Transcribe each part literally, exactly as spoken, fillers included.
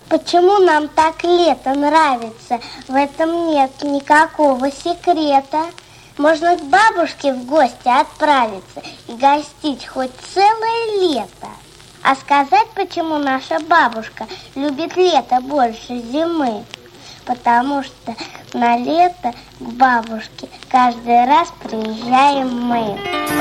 Почему нам так лето нравится? В этом нет никакого секрета. Можно к бабушке в гости отправиться и гостить хоть целое лето. А сказать, почему наша бабушка любит лето больше зимы? Потому что на лето к бабушке каждый раз приезжаем мы.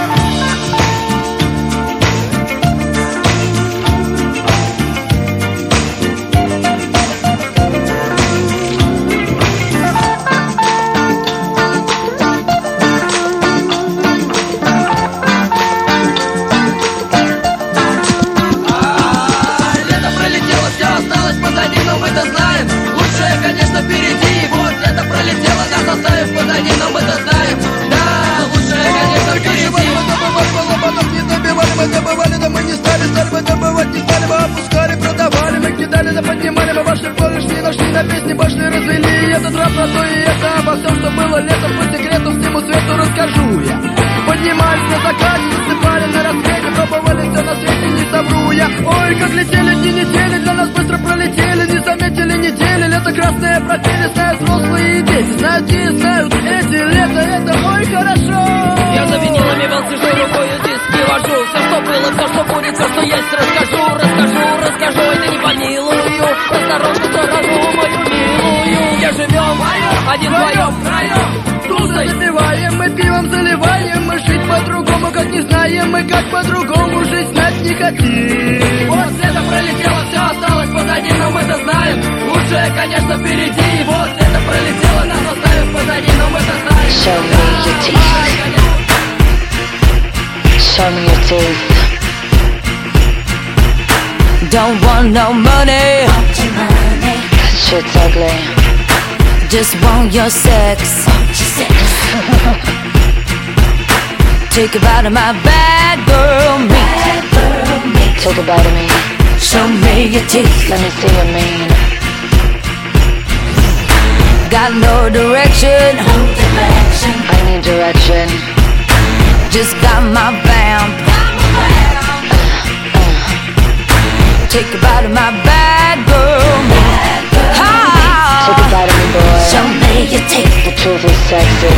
Конечно, впереди, вот это пролетело, нас оставив позади, но мы-то знаем, да, лучшее, конечно, впереди. Мы забывали, мы потом не добивали, мы забывали, да мы не стали, стали мы добывать, не стали, мы опускали, продавали, мы кидали, да поднимали, мы вошли в поле, шли, нашли на песни, пошли, развели, и этот рап на то и это, обо всем, что было летом, по секрету всему свету расскажу я. Поднимались на закате, засыпали на рассвете, пробовали все на свете, не совру я. Ой, как летели дни недели, для нас быстро пролетели, не заметили недели, лето красное пропели, знают взрослые и дети, знают и знают эти, лето это ой хорошо. Я за винилами вел, сижу рукою диски вожу, все что было, все что будет, все что есть, расскажу, расскажу, расскажу, это не помилую, осторожно заражу мою милую, где живем, один вдвоем, втроем. Тусой запиваем, мы пивом заливаем, мы жить по-другому, как не знаем, мы как по-другому жить знать не хотим. Вот это пролетело, все осталось позади, но мы-то знаем, лучшее, конечно, впереди. Вот это пролетело, нас оставив позади, но мы-то знаем. Show me your teeth. Show me your teeth. Don't want no money. That shit's ugly. Just want your sex. Take a bite of my bad girl meat. Take a bite of me. Show me your teeth. Let me see your mean. Got no direction. No direction. I need direction. Just got my vamp. Uh, uh. Take a bite of my bad girl meat. Take a bite of me, boy. Show me your teeth. The truth is sexy.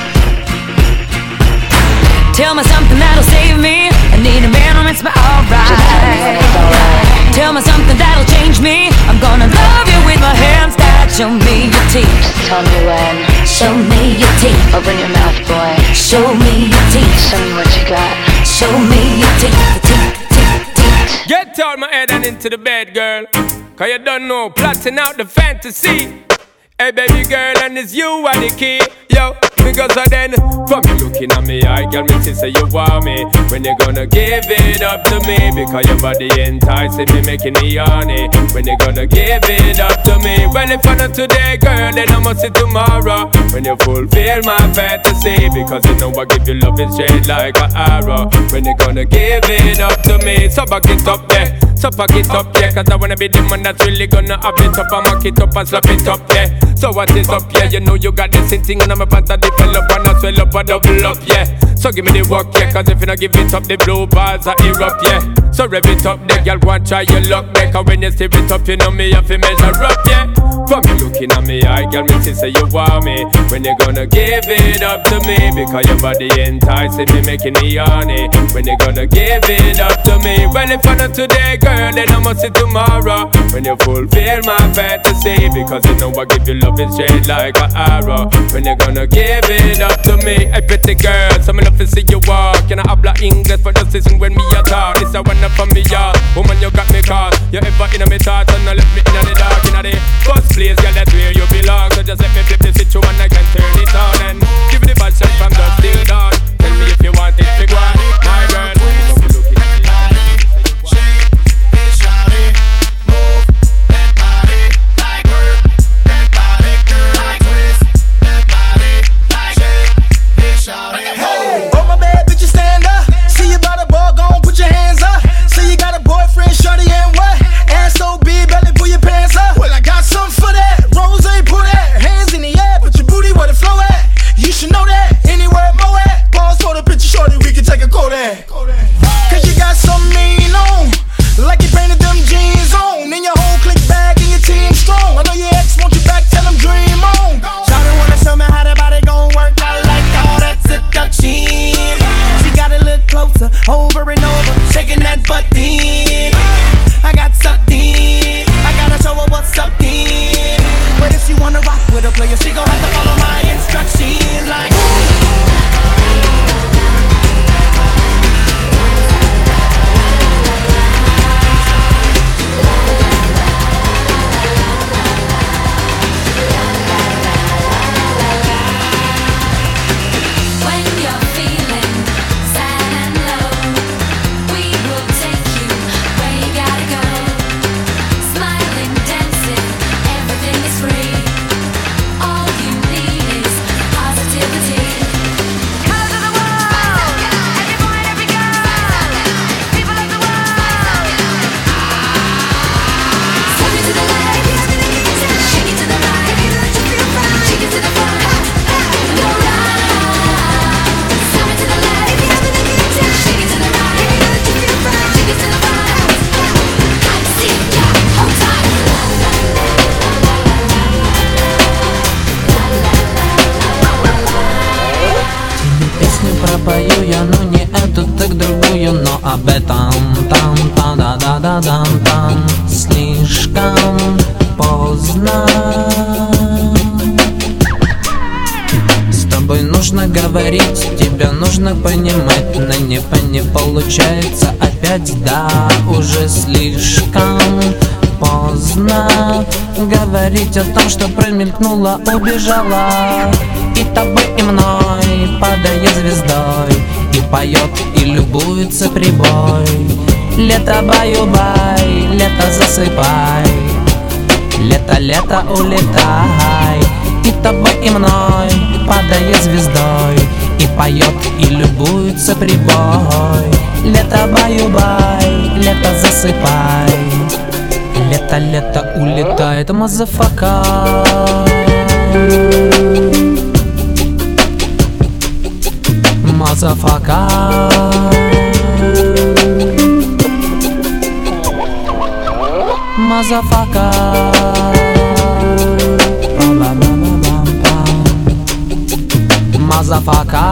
Tell me something that'll save me. I need a man who makes me alright. Just tell me when it's alright. Tell me something that'll change me. I'm gonna love you with my hands tied. Show me your teeth. Just tell me when. Show me your teeth. Open your mouth, boy. Show me your teeth. Show me what you got. Show me your teeth. The teeth, teeth, teeth. Get out my head and into the bed, girl. Cause you don't know, plotting out the fantasy. Hey baby girl, and it's you are the key. Yo, because of then, from you looking at me, I girl, me say you want me. When you gonna give it up to me? Because your body enticing me, making me horny. When you gonna give it up to me? Well, if I not today, girl, then I must see tomorrow. When you fulfill my fantasy, because you know I give you love it straight like an arrow. When you gonna give it up to me? So back it up there, so pack it up, yeah. Cause I wanna be the man that's really gonna have it up and mock it up and slap it up, yeah. So what is up, yeah? You know you got this thing on my pants and develop and I swell up and double up, yeah. So give me the work, yeah. Cause if you not give it up, the blue bars are erupt, yeah. So rev it up, there, girl, go and try your luck, there. Cause when you stir it up, you know me have to measure up, yeah. From you looking at me, I girl, me say you want me. When you gonna give it up to me? Because your body enticing me, making me horny. When you gonna give it up to me? Well, if I not today, girl, then I must see tomorrow. When you fulfill my fantasy, because you know I give you love it straight like an arrow. When you gonna give it up to me? Hey pretty girl, so me love to see you walk. You know habla English, but just listen when me a talk. This a one up from me yard. Woman, you got me caught. You ever in a me thoughts and not let me in the dark. In the first place, girl, that's where you belong. So just let me flip the switch and I can turn it on and give you the bad shot from dusk till dawn. Tell me if you want it, big one, my girl. об этом. Там, там, да, да, да, там, там. Слишком поздно. С тобой нужно говорить, тебя нужно понимать, но не, не получается опять, да, уже слишком поздно говорить о том, что промелькнула, убежала. И тобой, и мной падает звездой, и поет, и любуется прибой. Лето баю-бай, лето засыпай, лето, лето улетай. И тобой, и мной падает звездой, и поет, и любуется прибой. Лето баю-бай, лето засыпай, лето, лето улетает, мазафака. Мазафака. Мазафака. Мазафака.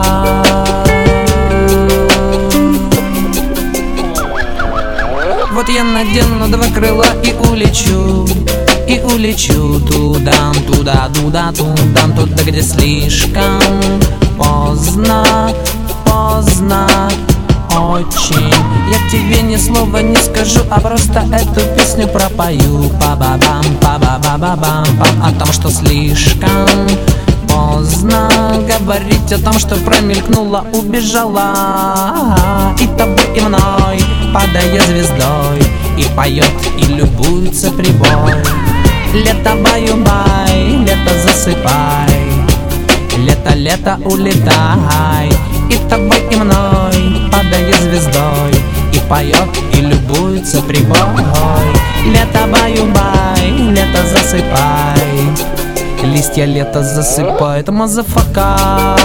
Вот я надену на два крыла и улечу, и улечу туда, туда, туда, туда, туда, где слишком поздно, поздно очень. Я тебе ни слова не скажу, а просто эту песню пропою. Па-ба-бам, па-ба-ба-ба-бам, о том, что слишком поздно говорить о том, что промелькнула, убежала. И тобой, и мной падая звездой, и поет, и любуется прибой. Лето баю-бай, лето засыпай, лето, лето улетай. И тобой, и мной падая звездой, и поет, и любуется прибой. Лето баю-бай, лето засыпай, листья лето засыпает, мазафака.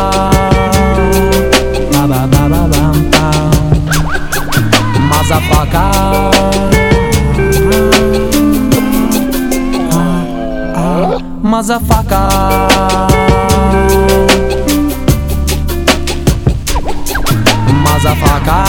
Ба-ба-ба-ба-бам-пам. Мазафака. Мазафака. Мазафака.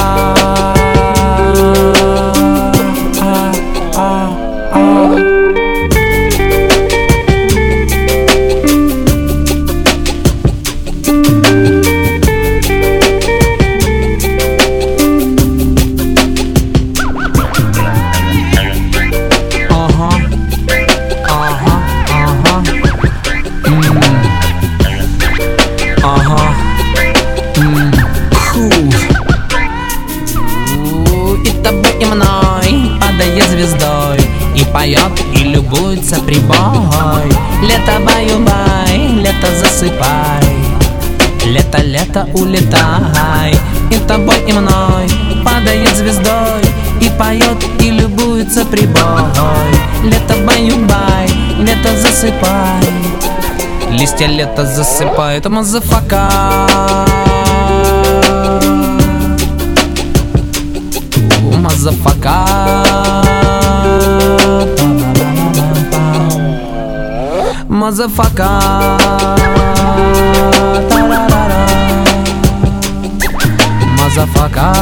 И мной падая звездой, и поет, и любуется прибой. Лето баю-бай, лето засыпай, лето, лето улетай. И тобой, и мной падает звездой, и поет, и любуется прибой. Лето баю-бай, лето засыпай, листья лето засыпает, мазафака. Мазафака. Мазафака. Мазафака.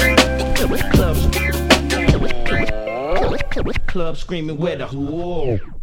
Club screaming where the